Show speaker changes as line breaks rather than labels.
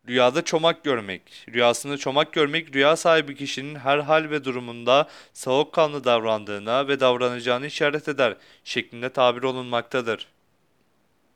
Rüyada çomak görmek. Rüyasında çomak görmek, rüya sahibi kişinin her hal ve durumunda soğukkanlı davrandığına ve davranacağını işaret eder şeklinde tabir olunmaktadır.